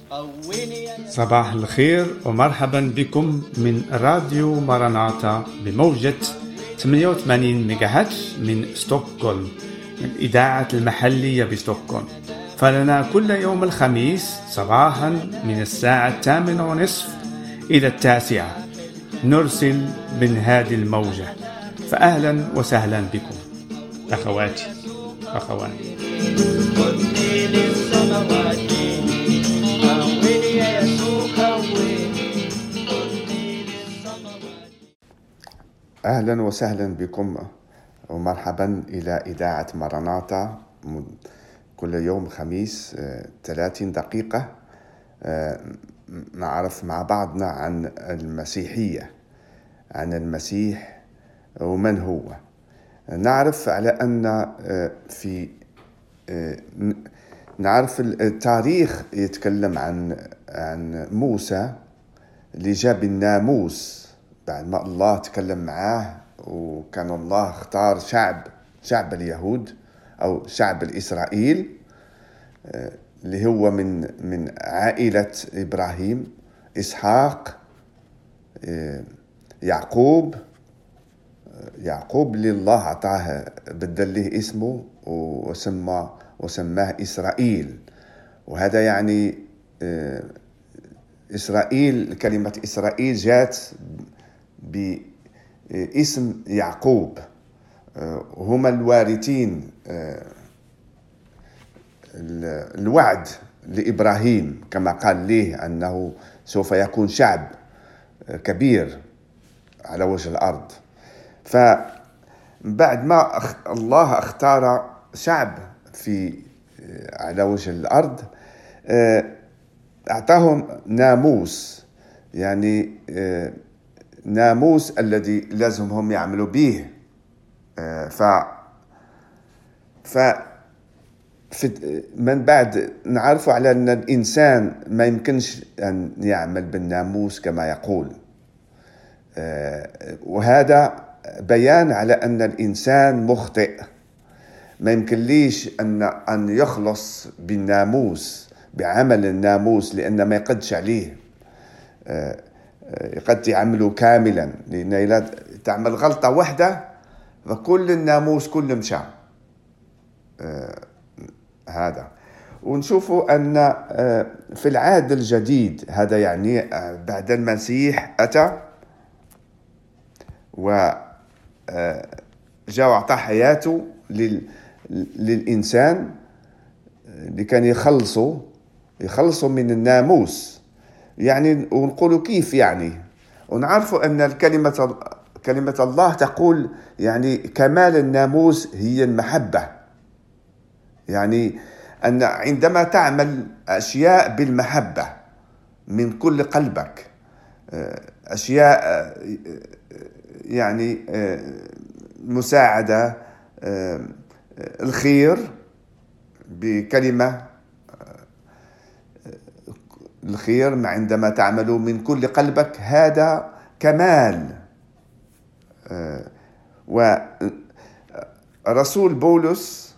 صباح الخير ومرحبا بكم من راديو ماراناتا بموجة 88 ميجاهاتش من ستوكهولم، الإذاعة المحلية بستوكهولم. فلنا كل يوم الخميس صباحا من الساعة 8:30 إلى 9 نرسل من هذه الموجة. فأهلا وسهلا بكم أخواتي أخواني. أهلا وسهلا بكم ومرحبا إلى إذاعة ماراناتا كل يوم خميس 30 دقيقة نعرف مع بعضنا عن المسيحية، عن المسيح ومن هو. نعرف على أن نعرف التاريخ يتكلم عن موسى اللي جاب الناموس بعد ما الله تكلم معاه، وكان الله اختار شعب اليهود أو شعب الإسرائيل اللي هو من عائلة إبراهيم، إسحاق، يعقوب اللي الله أعطاه بدل له اسمه وسماه إسرائيل. وهذا يعني إسرائيل، كلمة إسرائيل جاءت باسم يعقوب، هما الوارثين الوعد لإبراهيم، كما قال له أنه سوف يكون شعب كبير على وجه الأرض. فبعد ما الله اختار شعب على وجه الأرض، أعطاهم ناموس، يعني ناموس الذي لازم هم يعملوا به. من بعد نعرف على أن الإنسان ما يمكنش أن يعمل بالناموس كما يقول، وهذا بيان على أن الإنسان مخطئ. ما يمكن ليش أن يخلص بالناموس، بعمل الناموس، لأن ما يقدش عليه، قد يعمله كاملا، لأن إذا تعمل غلطة واحدة فكل الناموس كله مشى. هذا ونشوفوا أن في العهد الجديد، هذا يعني بعد المسيح أتى وجاء وأعطى حياته للإنسان اللي كان يخلصوا من الناموس. يعني ونقولوا كيف يعني، ونعرفوا أن كلمة الله تقول يعني كمال الناموس هي المحبة. يعني أن عندما تعمل أشياء بالمحبة من كل قلبك، أشياء يعني مساعدة، الخير بكلمة الخير، عندما تعمل من كل قلبك هذا كمال. ورسول بولس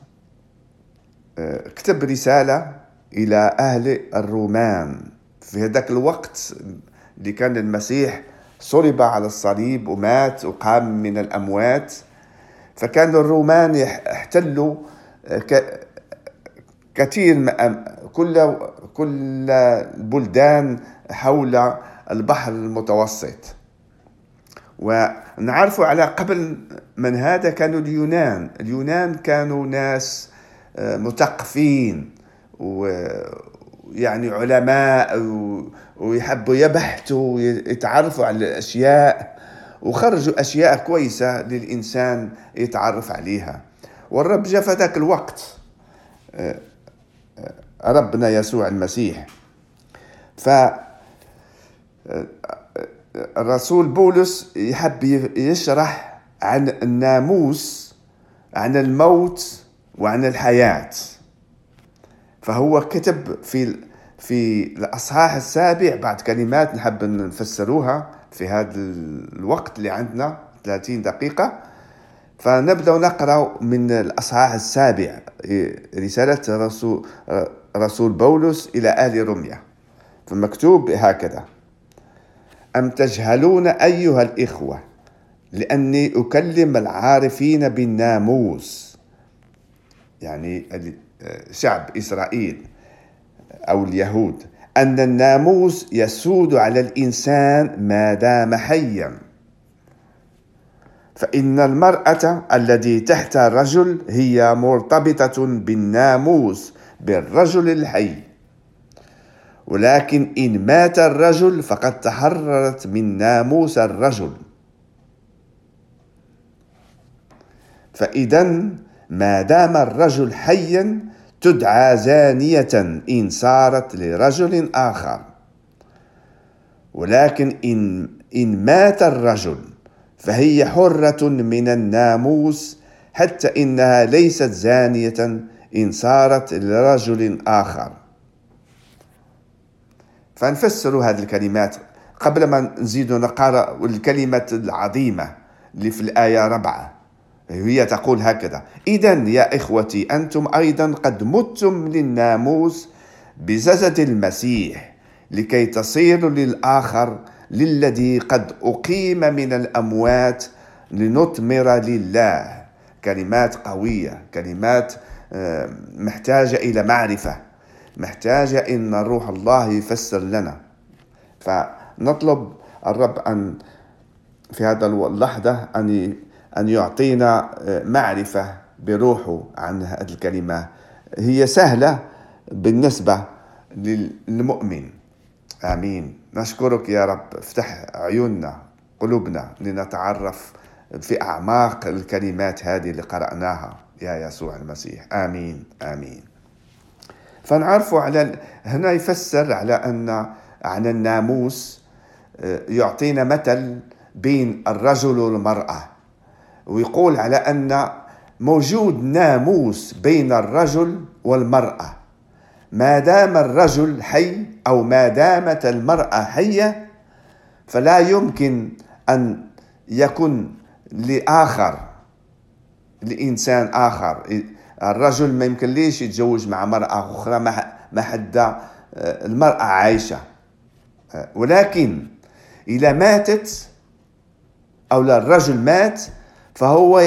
كتب رسالة إلى أهل الرومان في هذاك الوقت اللي كان المسيح صلب على الصليب ومات وقام من الأموات. فكان الرومان يحتلوا كثير كل البلدان حول البحر المتوسط. ونعرف على قبل من هذا كانوا اليونان كانوا ناس مثقفين ويعني علماء، ويحبوا يبحثوا ويتعرفوا على الأشياء، وخرجوا أشياء كويسة للإنسان يتعرف عليها. والرب جاء في ذاك الوقت، ربنا يسوع المسيح. فالرسول بولس يحب يشرح عن الناموس، عن الموت وعن الحياة. فهو كتب في الأصحاح 7 بعد كلمات نحب نفسروها في هذا الوقت اللي عندنا 30 دقيقة. فنبدأ نقرأ من الأصحاح 7 رسالة رسول بولس إلى أهل روميا. فمكتوب هكذا: أم تجهلون أيها الإخوة لأني أكلم العارفين بالناموس، يعني شعب إسرائيل أو اليهود، أن الناموس يسود على الإنسان ما دام حيا، فإن المرأة التي تحت الرجل هي مرتبطة بالناموس بالرجل الحي، ولكن إن مات الرجل فقد تحررت من ناموس الرجل. فإذا ما دام الرجل حيا تدعى زانية إن صارت لرجل آخر، ولكن إن مات الرجل فهي حرة من الناموس، حتى إنها ليست زانية إن صارت لرجل آخر. فنفسر هذه الكلمات قبل ما نزيد نقرأ الكلمة العظيمة اللي في الآية 4. هي تقول هكذا: إذن يا إخوتي أنتم أيضا قد متم للناموس بجسد المسيح لكي تصيروا للآخر للذي قد أقيم من الأموات لنثمر لله. كلمات قوية، كلمات محتاجة إلى معرفة، محتاجة إن روح الله يفسر لنا. فنطلب الرب أن في هذا اللحظة أن يعطينا معرفة بروحه عن هذه الكلمة. هي سهلة بالنسبة للمؤمن. آمين. نشكرك يا رب، افتح عيوننا قلوبنا لنتعرف في أعماق الكلمات هذه اللي قرأناها يا يسوع المسيح. آمين آمين. فنعرف هنا يفسر على أن عن الناموس، يعطينا مثل بين الرجل والمرأة، ويقول على أن موجود ناموس بين الرجل والمرأة. ما دام الرجل حي أو ما دامت المرأة حية فلا يمكن أن يكون لإنسان آخر. الرجل ما يمكن ليش يتزوج مع مرأة أخرى ما حد المرأة عايشة، ولكن إذا ماتت أو الرجل مات فهو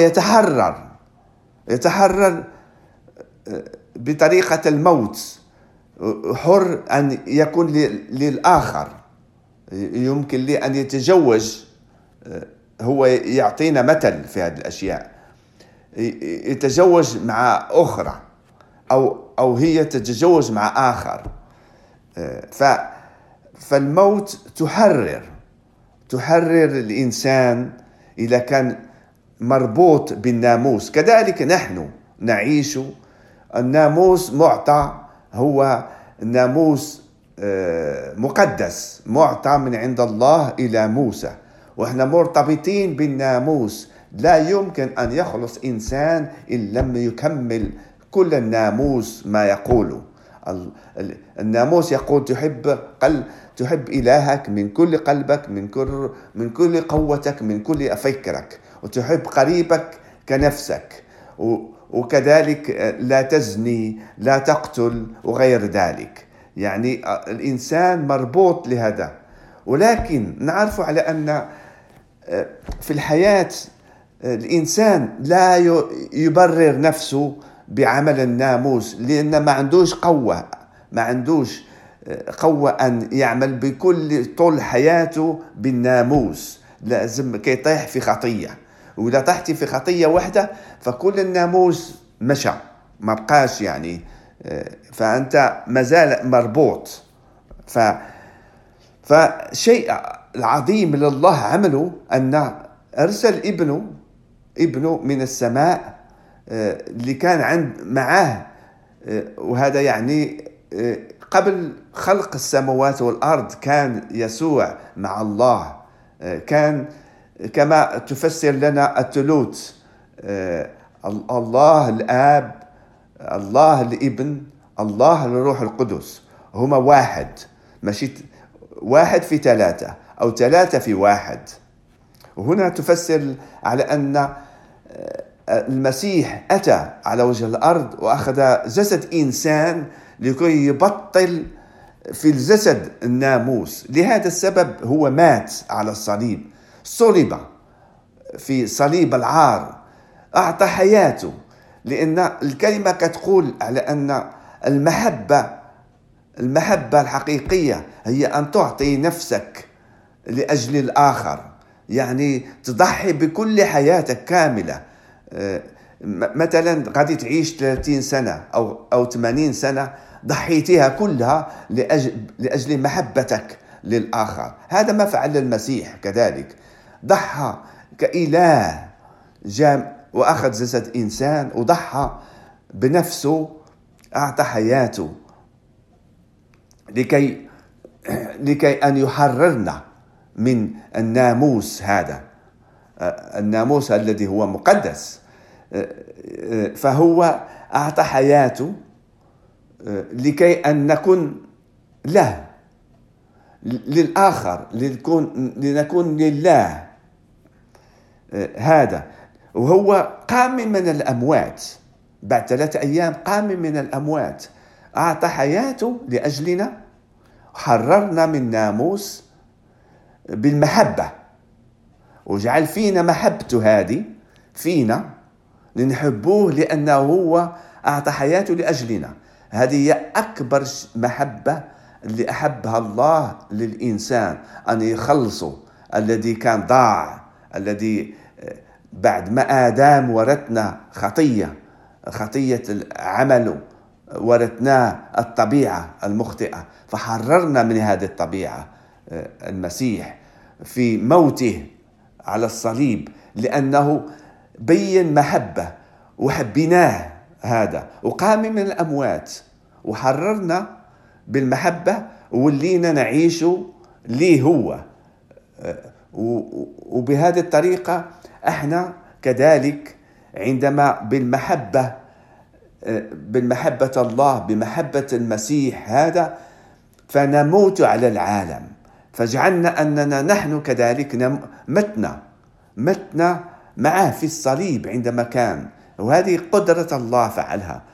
يتحرر بطريقة الموت، حر أن يكون للآخر. يمكن لي أن يتزوج، هو يعطينا مثل في هذه الأشياء، يتزوج مع أخرى أو هي تتزوج مع آخر. فالموت تحرر الإنسان إذا كان مربوط بالناموس. كذلك نحن نعيش. الناموس معطى، هو ناموس مقدس معطى من عند الله إلى موسى، وإحنا مرتبطين بالناموس. لا يمكن أن يخلص إنسان إن لم يكمل كل الناموس ما يقوله. الناموس يقول تحب إلهك من كل قلبك، من كل قوتك، من كل فكرك، وتحب قريبك كنفسك، وكذلك لا تزني، لا تقتل، وغير ذلك. يعني الإنسان مربوط لهذا. ولكن نعرف على أن في الحياة الإنسان لا يبرر نفسه بعمل الناموس، لأن ما عندوش قوة أن يعمل بكل طول حياته بالناموس. لازم كي يطيح في خطية، وإذا طحتي في خطية واحدة فكل الناموس مشى، ما بقاش يعني، فأنت مازال مربوط. فشيء العظيم اللي الله عمله أن أرسل ابنه من السماء اللي كان معاه. وهذا يعني قبل خلق السماوات والأرض كان يسوع مع الله. كان كما تفسر لنا الثالوث، الله الآب، الله الابن، الله الروح القدس، هما واحد، ماشي واحد في ثلاثة أو ثلاثة في واحد. وهنا تفسر على أن المسيح أتى على وجه الأرض وأخذ جسد إنسان لكي يبطل في الجسد الناموس. لهذا السبب هو مات على الصليب، صلب في صليب العار، أعطى حياته. لأن الكلمة كتقول على أن المحبة الحقيقية هي أن تعطي نفسك لأجل الآخر، يعني تضحي بكل حياتك كاملة. مثلا غادي تعيش 30 سنة أو 80 سنة، ضحيتها كلها لأجل محبتك للآخر. هذا ما فعل المسيح كذلك، ضحى كإله، جاء وأخذ جسد إنسان وضحى بنفسه، أعطى حياته لكي أن يحررنا من الناموس هذا، الناموس الذي هو مقدس. فهو أعطى حياته لكي أن نكون له، للآخر، لنكون لله. هذا وهو قام من الأموات، بعد 3 أيام قام من الأموات، أعطى حياته لأجلنا، حررنا من ناموس بالمحبة، وجعل فينا محبته هذه فينا لنحبوه، لأنه هو أعطى حياته لأجلنا. هذه هي أكبر محبة اللي أحبها الله للإنسان، أن يخلصه الذي كان ضاع، الذي بعد ما آدم ورثنا خطية العمل، ورثناه الطبيعة المخطئة، فحررنا من هذه الطبيعة المسيح في موته على الصليب، لأنه بين محبة وحبيناه هذا، وقام من الأموات وحررنا بالمحبة، ولينا نعيش ليه هو. وبهذه الطريقة احنا كذلك عندما بالمحبة الله، بمحبة المسيح هذا، فنموت على العالم، فجعلنا أننا نحن كذلك متنا معه في الصليب عندما كان، وهذه قدرة الله فعلها.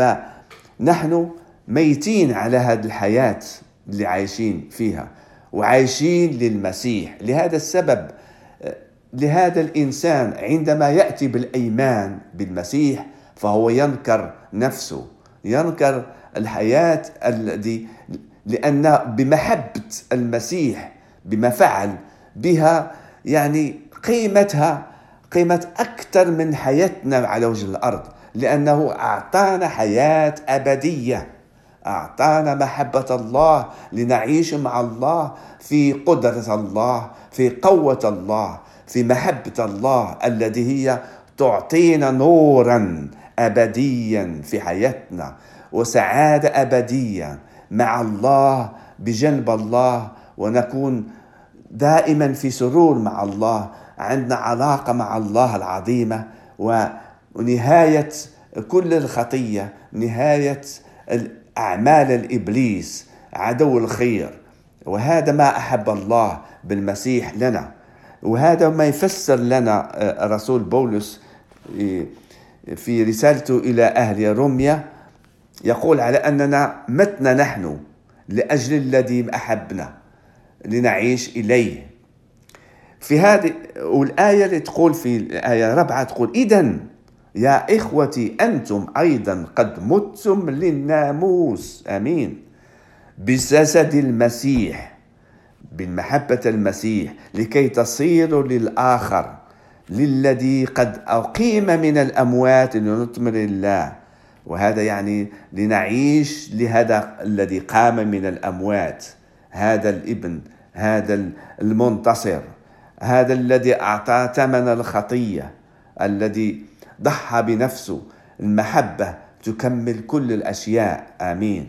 فنحن ميتين على هذه الحياة اللي عايشين فيها، وعايشين للمسيح. لهذا السبب لهذا الإنسان عندما يأتي بالإيمان بالمسيح فهو ينكر نفسه، ينكر الحياة لأن بمحبة المسيح بما فعل بها، يعني قيمة أكثر من حياتنا على وجه الأرض، لأنه أعطانا حياة أبدية، أعطانا محبة الله لنعيش مع الله في قدرة الله، في قوة الله، في محبة الله التي هي تعطينا نورا أبديا في حياتنا، وسعادة أبدية مع الله، بجنب الله، ونكون دائما في سرور مع الله، عندنا علاقة مع الله العظيمة، ونهاية كل الخطية، نهاية أعمال الإبليس عدو الخير. وهذا ما أحب الله بالمسيح لنا، وهذا ما يفسر لنا رسول بولس في رسالته إلى أهل روميا، يقول على أننا متنا نحن لأجل الذي أحبنا لنعيش إليه. في هذه والآية اللي تقول في الآية 4 تقول: إذن يا إخوتي أنتم أيضا قد متم للناموس، آمين، بجسد المسيح، بالمحبة المسيح، لكي تصيروا للآخر، للذي قد أقيم من الأموات لنثمر الله. وهذا يعني لنعيش لهذا الذي قام من الأموات، هذا الابن، هذا المنتصر، هذا الذي أعطى ثمن الخطية، الذي ضحى بنفسه. المحبة تكمل كل الأشياء، آمين.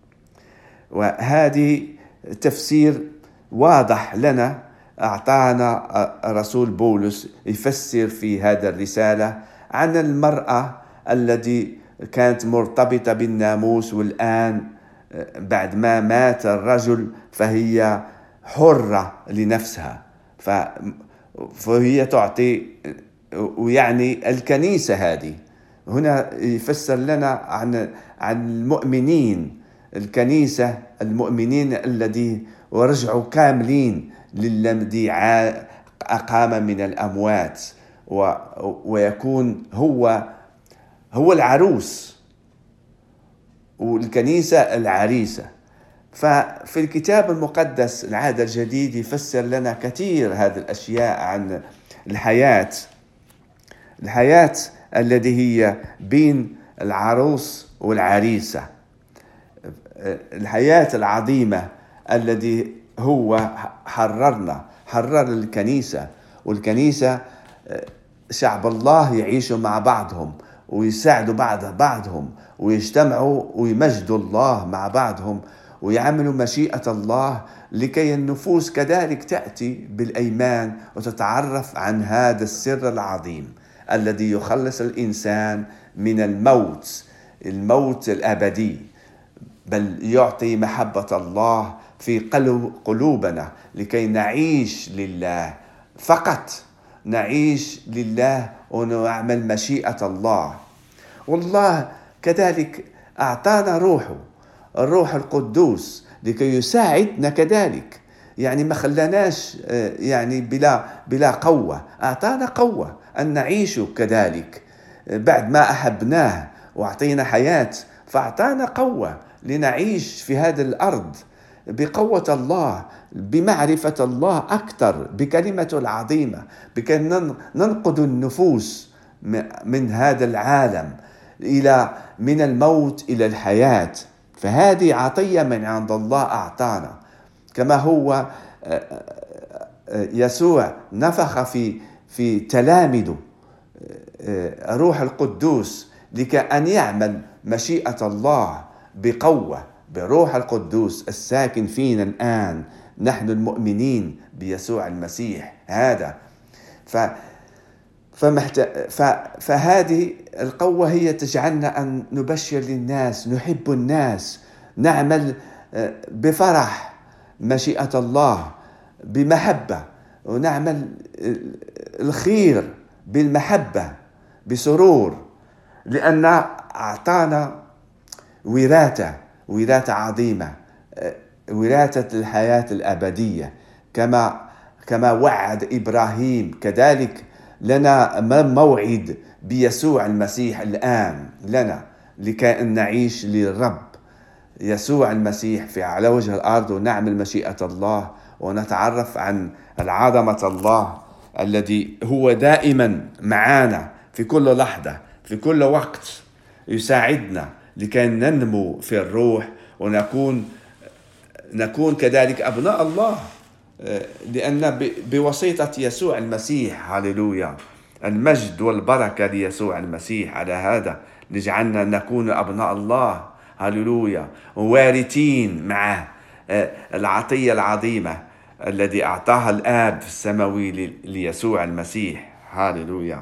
وهذه تفسير واضح لنا أعطانا رسول بولس يفسر في هذا الرسالة عن المرأة التي كانت مرتبطة بالناموس، والآن بعد ما مات الرجل فهي حرة لنفسها، فهي تعطي. ويعني الكنيسة هذه هنا يفسر لنا عن المؤمنين الكنيسة المؤمنين الذي ورجعوا كاملين للذي أقام من الأموات، ويكون هو العروس والكنيسة العريسة. ففي الكتاب المقدس العهد الجديد يفسر لنا كثير هذه الأشياء عن الحياة التي هي بين العروس والعريسة، الحياة العظيمة التي هو حرر الكنيسة، والكنيسة شعب الله يعيشوا مع بعضهم ويساعدوا بعضهم ويجتمعوا ويمجدوا الله مع بعضهم ويعملوا مشيئة الله، لكي النفوس كذلك تأتي بالأيمان وتتعرف عن هذا السر العظيم الذي يخلص الإنسان من الموت الأبدي، بل يعطي محبة الله في قلوبنا لكي نعيش لله، فقط نعيش لله ونعمل مشيئة الله. والله كذلك أعطانا الروح القدوس لكي يساعدنا كذلك، يعني ما خلناش يعني بلا قوة، أعطانا قوة أن نعيش كذلك بعد ما أحبناه وأعطينا حياة، فأعطانا قوة لنعيش في هذه الأرض بقوة الله، بمعرفة الله أكثر، بكلمته العظيمة، بكي ننقذ النفوس من هذا العالم من الموت إلى الحياة. فهذه عطية من عند الله أعطانا، كما هو يسوع نفخ في تلاميذه روح القدوس لكي أن يعمل مشيئة الله بقوة بروح القدوس الساكن فينا الآن نحن المؤمنين بيسوع المسيح. هذا فهذه القوة هي تجعلنا أن نبشر للناس، نحب الناس، نعمل بفرح مشيئة الله بمحبة، ونعمل الخير بالمحبة بسرور، لأن أعطانا وراثة عظيمة، وراثة الحياة الأبدية، كما وعد إبراهيم كذلك لنا موعد بيسوع المسيح الآن لنا لكي نعيش للرب يسوع المسيح على وجه الأرض، ونعمل مشيئة الله ونتعرف عن عظمة الله الذي هو دائما معنا في كل لحظة في كل وقت، يساعدنا لكي ننمو في الروح ونكون كذلك أبناء الله، لأن بواسطة يسوع المسيح، هاليلويا، المجد والبركة ليسوع المسيح على هذا لجعلنا نكون أبناء الله، هاليلويا، ووارثين معه العطية العظيمة الذي أعطاها الآب السماوي ليسوع المسيح، هاليلويا.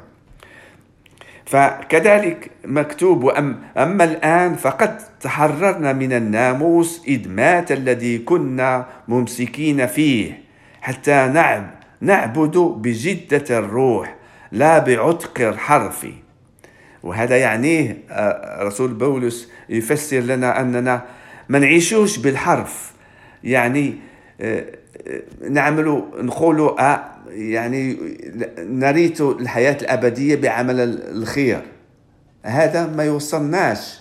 فكذلك مكتوب: أما الآن فقد تحررنا من الناموس إذ مات الذي كنا ممسكين فيه، حتى نعبد بجدة الروح لا بعتق الحرف. وهذا يعنيه رسول بولس يفسر لنا أننا ما نعيشوش بالحرف، يعني نقولوا يعني نريد الحياة الأبدية بعمل الخير، هذا ما يوصلناش.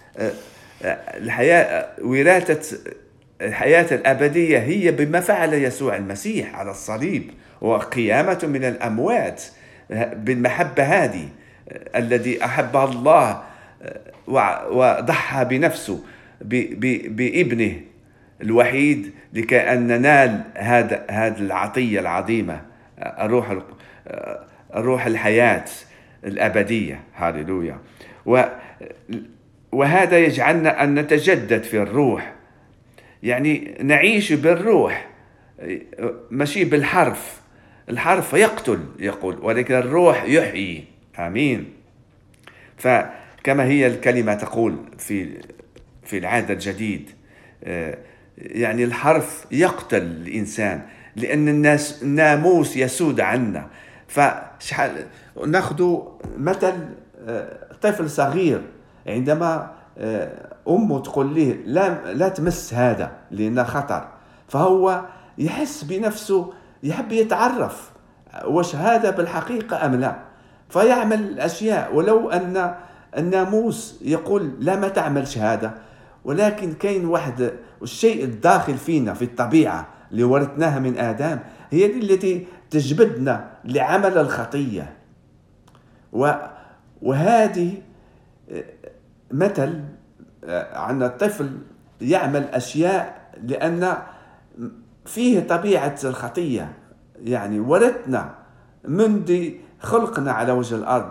وراثة الحياة الأبدية هي بما فعل يسوع المسيح على الصليب وقيامة من الأموات، بالمحبة هذه الذي أحبها الله وضحى بنفسه بابنه الوحيد لكي أن ننال هذه العطية العظيمة، الروح الحياة الأبدية، هاليلويا. وهذا يجعلنا أن نتجدد في الروح، يعني نعيش بالروح ماشي بالحرف. الحرف يقتل يقول، ولكن الروح يحيي. آمين. فكما هي الكلمة تقول في العهد الجديد، يعني الحرف يقتل الإنسان لأن الناموس يسود عنا. فشحال ناخذ مثل طفل صغير عندما أمه تقول له لا تمس هذا لأنه خطر، فهو يحس بنفسه يحب يتعرف واش هذا بالحقيقة أم لا، فيعمل الأشياء ولو أن الناموس يقول لا ما تعملش هذا، ولكن كاين واحد الشيء الداخل فينا في الطبيعة اللي ورثناها من آدم هي التي تجبدنا لعمل الخطية. وهذه مثل عن الطفل يعمل أشياء لأن فيه طبيعة الخطية، يعني ورثنا منذ خلقنا على وجه الأرض،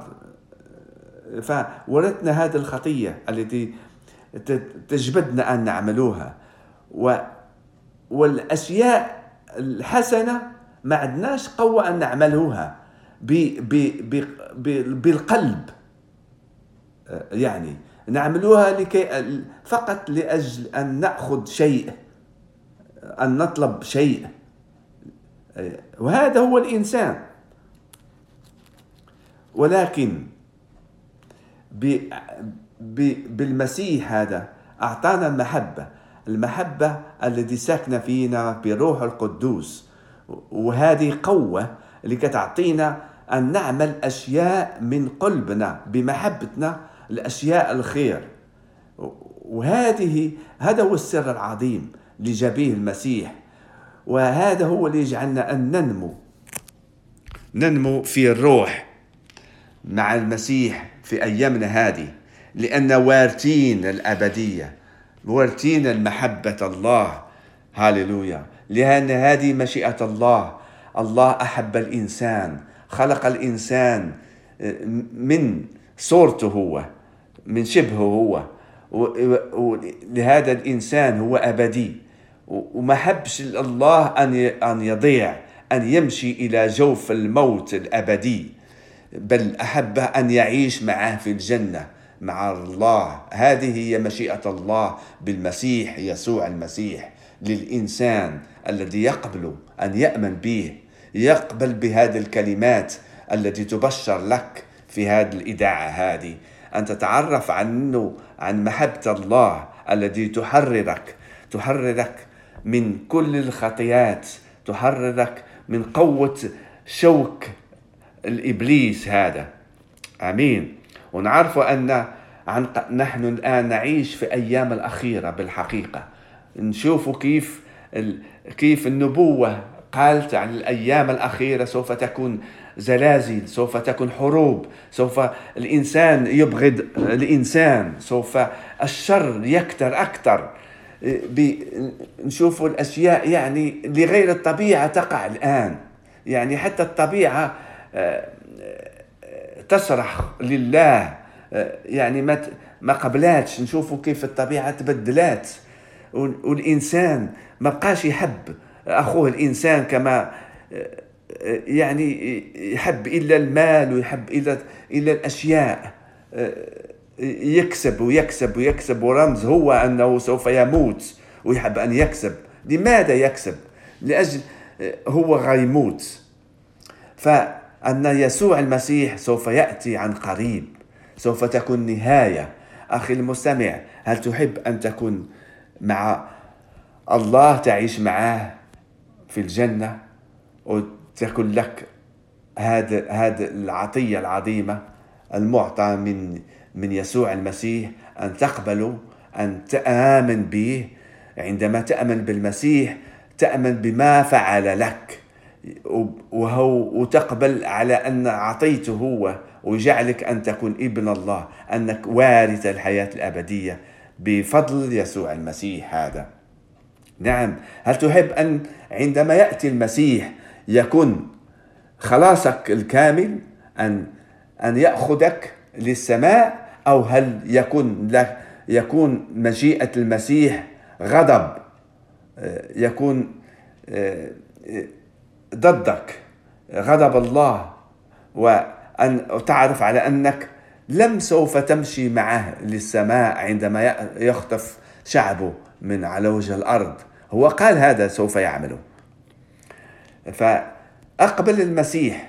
فورثنا هذه الخطية التي تجبدنا أن نعملوها. والأشياء الحسنة ما عندناش قوة أن نعملوها بالقلب، يعني نعملوها فقط لأجل أن نأخذ شيء، أن نطلب شيء، وهذا هو الإنسان. ولكن بالمسيح هذا أعطانا المحبة التي ساكنة فينا بروح القدوس، وهذه قوة اللي كتعطينا أن نعمل أشياء من قلبنا بمحبتنا الأشياء الخير. هذا هو السر العظيم اللي جابيه المسيح، وهذا هو اللي يجعلنا أن ننمو في الروح مع المسيح في أيامنا هذه، لأن وارثين الأبدية، وارثين المحبة الله. هاليلويا، لأن هذه مشيئة الله. الله أحب الإنسان، خلق الإنسان من صورته هو، من شبهه هو، ولهذا الإنسان هو أبدي، وما حبش الله أن يضيع، أن يمشي إلى جوف الموت الأبدي، بل أحب أن يعيش معه في الجنة مع الله. هذه هي مشيئة الله بالمسيح يسوع المسيح للإنسان الذي يقبل أن يأمن به، يقبل بهذه الكلمات التي تبشر لك في هذه الإذاعة هذه، أن تتعرف عن محبة الله الذي تحررك من كل الخطيات، تحررك من قوة شوك الإبليس هذا. آمين. ونعرف أن نحن الآن نعيش في أيام الأخيرة بالحقيقة. نشوف كيف النبوة قالت عن الأيام الأخيرة سوف تكون زلازل، سوف تكون حروب، سوف الإنسان يبغض الإنسان، سوف الشر يكتر أكثر. نشوف الأشياء يعني لغير الطبيعة تقع الآن، يعني حتى الطبيعة تصرخ لله، يعني ما قبلاتش. نشوفوا كيف الطبيعة تبدلات، والإنسان ما بقاش يحب أخوه الإنسان كما يعني يحب إلا المال، ويحب إلا الأشياء، يكسب ويكسب ويكسب، ورمز هو أنه سوف يموت ويحب أن يكسب. لماذا يكسب؟ لأجل هو غيموت. فأن يسوع المسيح سوف يأتي عن قريب، سوف تكون نهاية. أخي المستمع، هل تحب أن تكون مع الله، تعيش معه في الجنة، وتكون لك هذا العطية العظيمة المعطى من يسوع المسيح، أن تقبله، أن تآمن به. عندما تأمن بالمسيح تأمن بما فعل لك، وتقبل على أن عطيته هو، ويجعلك أن تكون ابن الله، أنك وارث الحياة الأبدية بفضل يسوع المسيح هذا. نعم. هل تحب أن عندما يأتي المسيح يكون خلاصك الكامل، أن يأخذك للسماء، أو هل يكون مجيئة المسيح غضب، يكون ضدك غضب الله، وأن تعرف على أنك لم سوف تمشي معه للسماء عندما يخطف شعبه من على وجه الأرض. هو قال هذا سوف يعمله. فأقبل المسيح،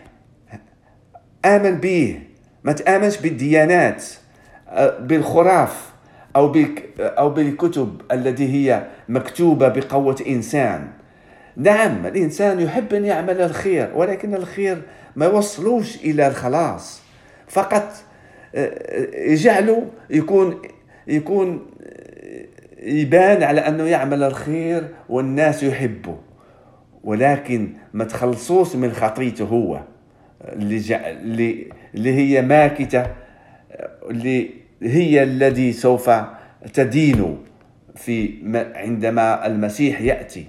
آمن به، ما تآمنش بالديانات، بالخراف، أو بالكتب التي هي مكتوبة بقوة إنسان. نعم، الإنسان يحب أن يعمل الخير، ولكن الخير ما يوصلوش إلى الخلاص، فقط يجعله يكون يبان على أنه يعمل الخير والناس يحبه، ولكن ما تخلصوش من خطيته هو اللي هي ماكتة، اللي هي الذي سوف تدين عندما المسيح يأتي.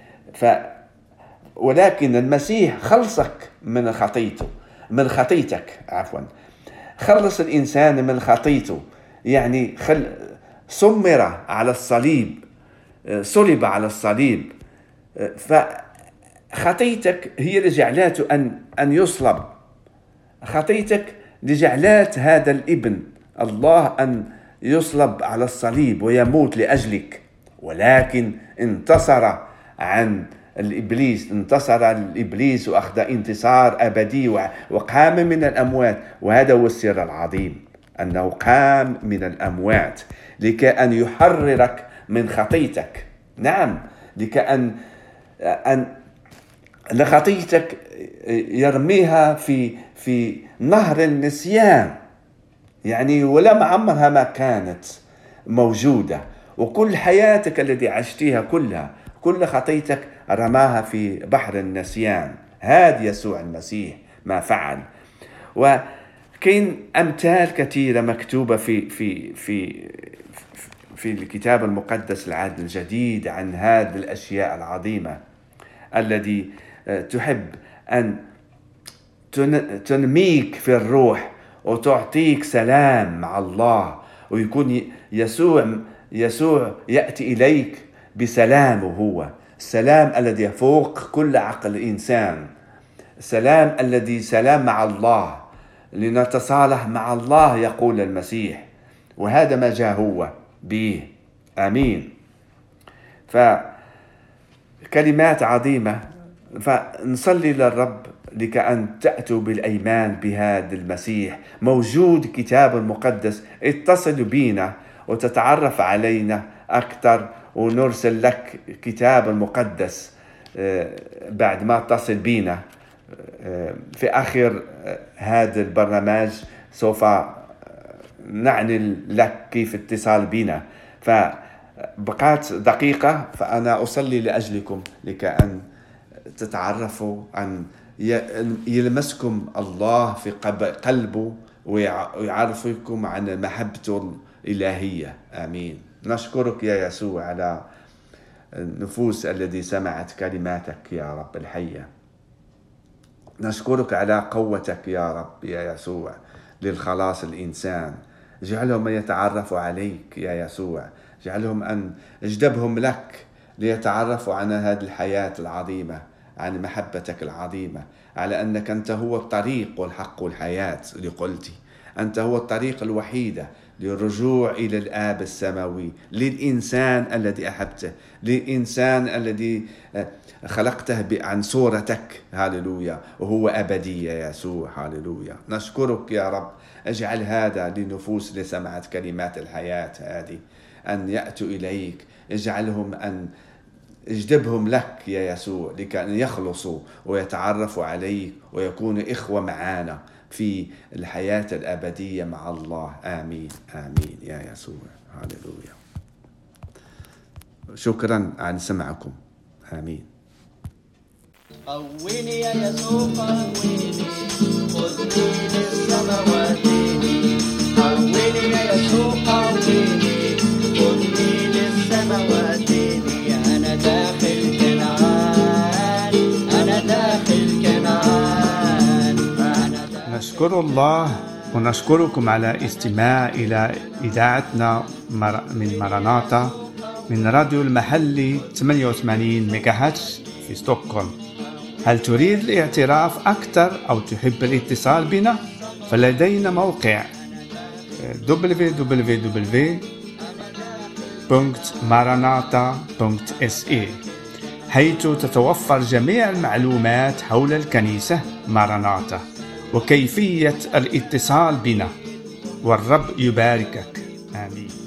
ولكن المسيح خلصك من خطيتك خلص الإنسان من خطيته، يعني صلب على الصليب. فخطيتك هي اللي جعلته أن يصلب، خطيتك لجعلات هذا الابن الله أن يصلب على الصليب ويموت لأجلك. ولكن انتصر على الإبليس وأخذ انتصار أبدي وقام من الأموات. وهذا هو السر العظيم، أنه قام من الأموات لكي أن يحررك من خطيتك. نعم، لكي أن خطيتك يرميها في نهر النسيان، يعني ولم عمرها ما كانت موجودة، وكل حياتك التي عشتها كل خطيتك رماها في بحر النسيان. هذا يسوع المسيح ما فعل. وكاين أمثال كثيرة مكتوبة في الكتاب المقدس العهد الجديد عن هذه الأشياء العظيمة التي تحب أن تنميك في الروح وتعطيك سلام مع الله، ويكون يسوع يأتي إليك بسلامه هو السلام الذي يفوق كل عقل الإنسان، سلام الذي سلام مع الله، لنتصالح مع الله يقول المسيح، وهذا ما جاء هو به. آمين. فكلمات عظيمة، فنصلي للرب لكأن تأتوا بالأيمان بهذا المسيح موجود كتاب المقدس. اتصل بينا وتتعرف علينا أكثر، ونرسل لك كتاب المقدس بعد ما اتصل بينا. في آخر هذا البرنامج سوف نعني لك كيف اتصال بنا. فبقات دقيقة، فأنا أصلي لأجلكم لكأن تتعرفوا أن يلمسكم الله في قلبه ويعرفكم عن محبته الإلهية. آمين. نشكرك يا يسوع على النفوس التي سمعت كلماتك يا رب الحية. نشكرك على قوتك يا رب يا يسوع للخلاص الإنسان. جعلهم يتعرفوا عليك يا يسوع، جعلهم أن اجذبهم لك ليتعرفوا عن هذه الحياة العظيمة، عن محبتك العظيمة، على أنك أنت هو الطريق والحق والحياة اللي قلتي. أنت هو الطريق الوحيدة للرجوع إلى الآب السماوي، للإنسان الذي أحبته، للإنسان الذي خلقته عن صورتك. هاللويا. وهو أبدي يا يسوع. هاللويا. نشكرك يا رب. اجعل هذا للنفوس اللي سمعت كلمات الحياة هذه أن يأتوا إليك. اجعلهم أن اجذبهم لك يا يسوع لكي يخلصوا ويتعرفوا عليك ويكونوا إخوة معانا في الحياة الأبدية مع الله. آمين. آمين يا يسوع. هاللويا. شكرا على سمعكم. آمين. قوّني يا يسوع قوّني، خذني للسماوات. قوّني يا يسوع قوّني، خذني للسماوات. أنا داخل كنعان، أنا داخل كنعان. نشكر الله ونشكركم على استماع إلى إذاعتنا من مراناتا من راديو المحلي 88 ميجاهرتز في ستوكهولم. هل تريد الاعتراف أكثر أو تحب الاتصال بنا؟ فلدينا موقع www.maranatha.se حيث تتوفر جميع المعلومات حول الكنيسة ماراناتا وكيفية الاتصال بنا. والرب يباركك. آمين.